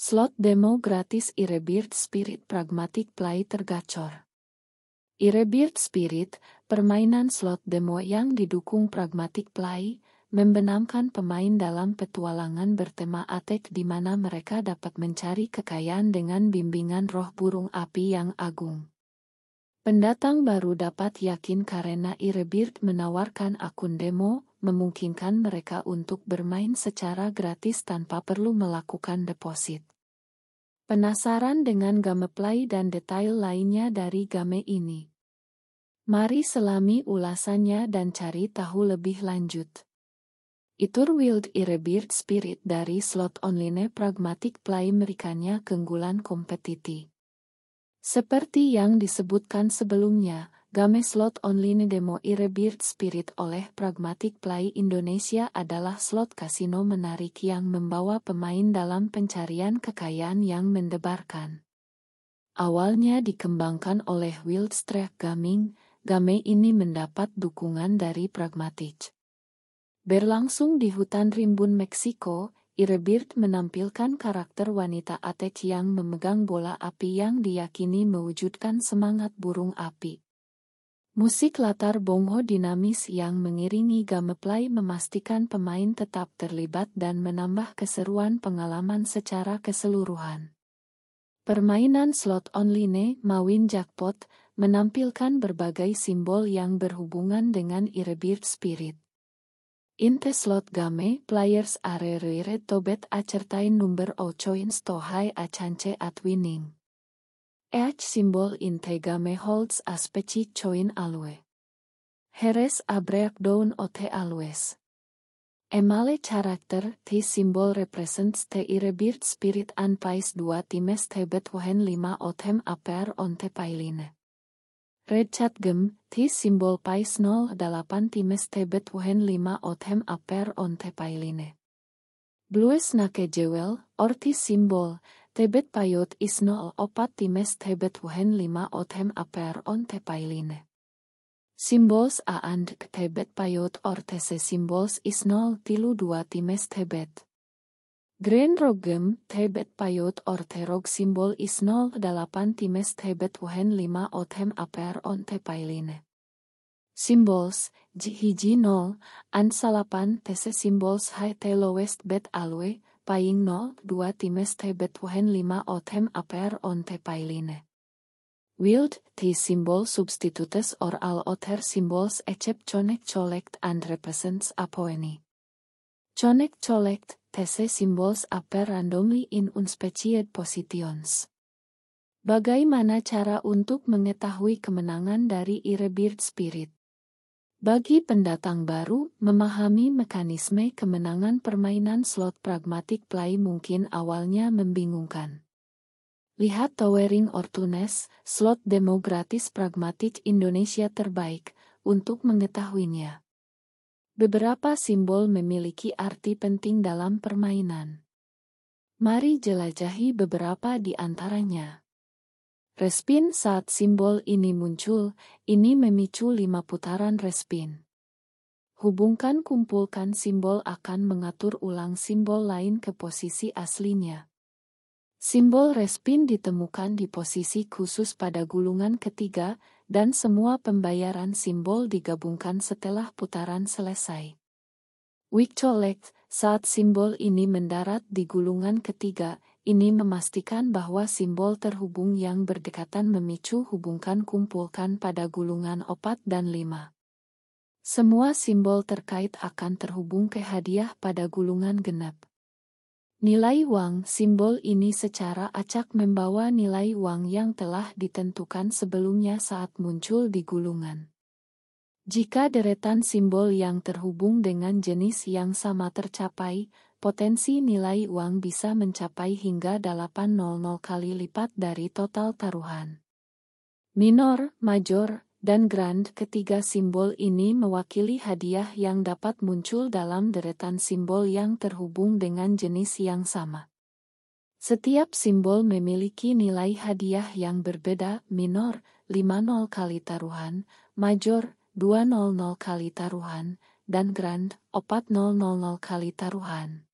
Slot demo gratis Irebird Spirit Pragmatic Play tergacor. Irebird Spirit, permainan slot demo yang didukung Pragmatic Play, membenamkan pemain dalam petualangan bertema attack di mana mereka dapat mencari kekayaan dengan bimbingan roh burung api yang agung. Pendatang baru dapat yakin karena Irebird menawarkan akun demo, memungkinkan mereka untuk bermain secara gratis tanpa perlu melakukan deposit. Penasaran dengan gameplay dan detail lainnya dari game ini? Mari selami ulasannya dan cari tahu lebih lanjut. Itur Wild Irebird Spirit dari slot online Pragmatic Play memberikannya keunggulan kompetitif. Seperti yang disebutkan sebelumnya, game slot online demo Irebird Spirit oleh Pragmatic Play Indonesia adalah slot kasino menarik yang membawa pemain dalam pencarian kekayaan yang mendebarkan. Awalnya dikembangkan oleh Wild Streak Gaming, game ini mendapat dukungan dari Pragmatic. Berlangsung di hutan rimbun Meksiko, Irebird menampilkan karakter wanita attack yang memegang bola api yang diyakini mewujudkan semangat burung api. Musik latar bongo dinamis yang mengiringi gameplay memastikan pemain tetap terlibat dan menambah keseruan pengalaman secara keseluruhan. Permainan slot online Mawin Jackpot menampilkan berbagai simbol yang berhubungan dengan Irebird Spirit. Inte slot game players are required to bet a certain number of coins to have a chance at winning. Each symbol in the game holds a specific coin value. Here is a breakdown of the values. Emale character, this symbol represents the Irebird Spirit and pays 2 times the bet when 5 of them appear on the pile. Red Chat Gem, this symbol pays 0,8 times the bet when 5 of them appear on the pile. Blue Snake Jewel, or this symbol, the bet payot is 0,4 times the bet when 5 of them appear on the pile. Symbols A and the bet payot or TC symbols is 0,2 times the bet. Green Rock Gem, the bet payot or the rock symbol is 0,8 times the bet when 5 of them appear on the pile. Symbols Hiji 0 and 8 TC symbols high the lowest bet value, paying 0,2 times the bet when 5 of them appear on the pile. Wild, this symbol substitutes or all other symbols except Connect Collect and represents a pony. Connect Collect, TC symbols appear randomly in unspecified positions. Bagaimana cara untuk mengetahui kemenangan dari Irebird Spirit? Bagi pendatang baru, memahami mekanisme kemenangan permainan slot Pragmatic Play mungkin awalnya membingungkan. Lihat Towering Fortunes, slot demo gratis Pragmatic Indonesia terbaik, untuk mengetahuinya. Beberapa simbol memiliki arti penting dalam permainan. Mari jelajahi beberapa di antaranya. Respin saat simbol ini muncul, ini memicu 5 putaran respin. Hubungkan kumpulkan simbol akan mengatur ulang simbol lain ke posisi aslinya. Simbol respin ditemukan di posisi khusus pada gulungan ketiga, dan semua pembayaran simbol digabungkan setelah putaran selesai. Weak Collect, saat simbol ini mendarat di gulungan ketiga, ini memastikan bahwa simbol terhubung yang berdekatan memicu hubungkan kumpulkan pada gulungan 4 dan 5. Semua simbol terkait akan terhubung ke hadiah pada gulungan genap. Nilai uang, simbol ini secara acak membawa nilai uang yang telah ditentukan sebelumnya saat muncul di gulungan. Jika deretan simbol yang terhubung dengan jenis yang sama tercapai, potensi nilai uang bisa mencapai hingga 800 kali lipat dari total taruhan. Minor, major, dan grand, ketiga simbol ini mewakili hadiah yang dapat muncul dalam deretan simbol yang terhubung dengan jenis yang sama. Setiap simbol memiliki nilai hadiah yang berbeda. Minor 50 kali taruhan, major 200 kali taruhan, dan grand 400 kali taruhan.